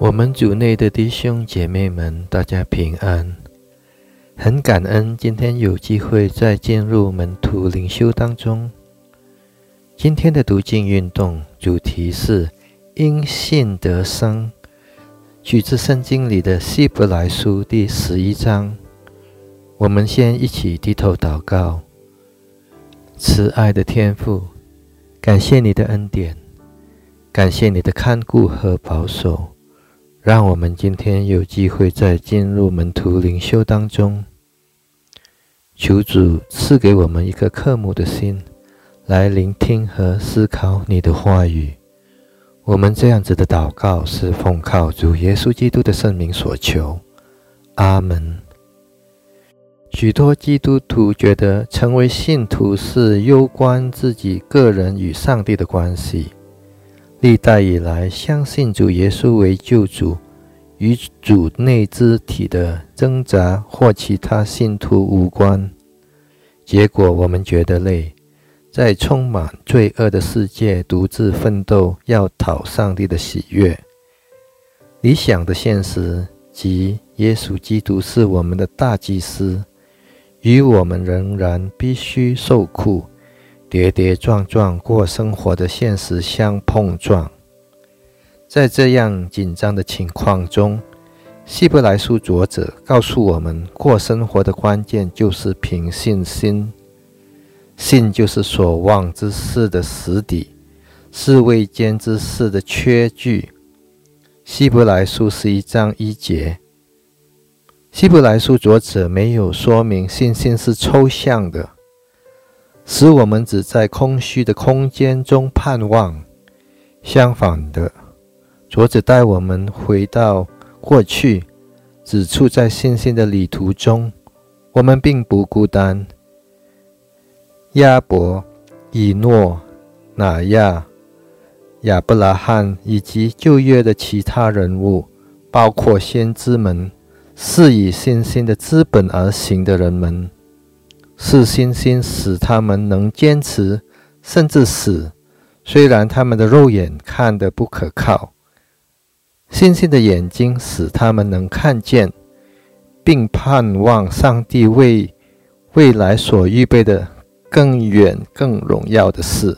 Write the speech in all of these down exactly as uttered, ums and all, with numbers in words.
我们主内的弟兄姐妹们，大家平安。很感恩今天有机会再进入门徒灵修当中。今天的读经运动主题是因信得生，取自圣经里的希伯来书第十一章。我们先一起低头祷告。慈爱的天父，感谢你的恩典，感谢你的看顾和保守，让我们今天有机会在进入门徒灵修当中。求主赐给我们一个渴慕的心，来聆听和思考你的话语。我们这样子的祷告是奉靠主耶稣基督的圣名所求。阿们。许多基督徒觉得成为信徒是攸关自己个人与上帝的关系。历代以来，相信主耶稣为救主，与主内肢体的挣扎或其他信徒无关。结果我们觉得累，在充满罪恶的世界独自奋斗，要讨上帝的喜悦。理想的现实即耶稣基督是我们的大祭司，与我们仍然必须受苦，跌跌撞撞过生活的现实相碰撞。在这样紧张的情况中，希伯来书作者告诉我们，过生活的关键就是凭信心。信就是所望之事的实底，是未见之事的确据。希伯来书十一章一节。希伯来书作者没有说明信心是抽象的，使我们只在空虚的空间中盼望。相反的，作者带我们回到过去，指出在信心的旅途中，我们并不孤单。亚伯、以诺、拿亚、亚伯拉罕以及旧约的其他人物，包括先知们，是以信心的资本而行的人们，是信心使他们能坚持，甚至死，虽然他们的肉眼看得不可靠。信心的眼睛使他们能看见，并盼望上帝为未来所预备的更远更荣耀的事。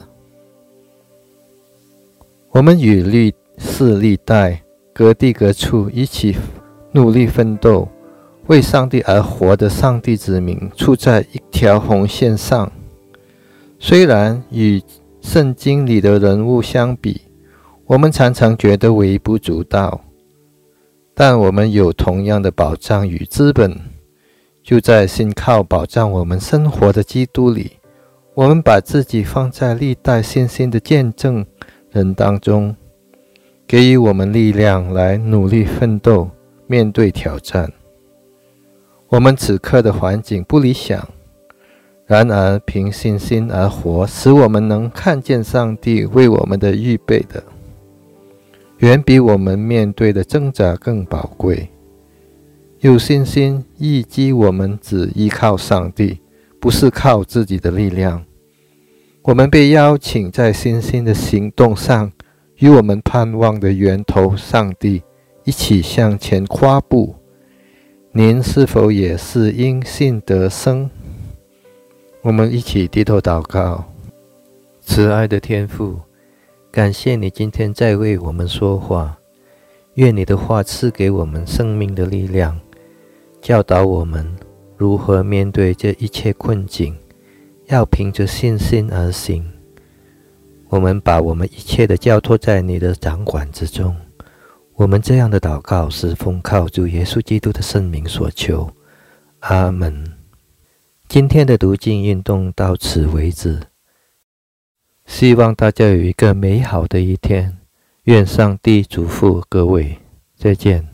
我们与历世历代各地各处一起努力奋斗，为上帝而活的上帝子民处在一条红线上。虽然与圣经里的人物相比，我们常常觉得微不足道，但我们有同样的保障与资本，就在信靠保障我们生活的基督里。我们把自己放在历代信心的见证人当中，给予我们力量来努力奋斗，面对挑战。我们此刻的环境不理想，然而凭信心而活，使我们能看见上帝为我们的预备的，远比我们面对的挣扎更宝贵。有信心意即我们只依靠上帝，不是靠自己的力量。我们被邀请在信心的行动上，与我们盼望的源头上帝一起向前跨步。您是否也是因信得生？我们一起低头祷告。慈爱的天父，感谢你今天在为我们说话，愿你的话赐给我们生命的力量，教导我们如何面对这一切困境，要凭着信心而行。我们把我们一切的交托在你的掌管之中。我们这样的祷告是奉靠主耶稣基督的圣名所求。阿们。今天的读经运动到此为止，希望大家有一个美好的一天。愿上帝祝福各位，再见。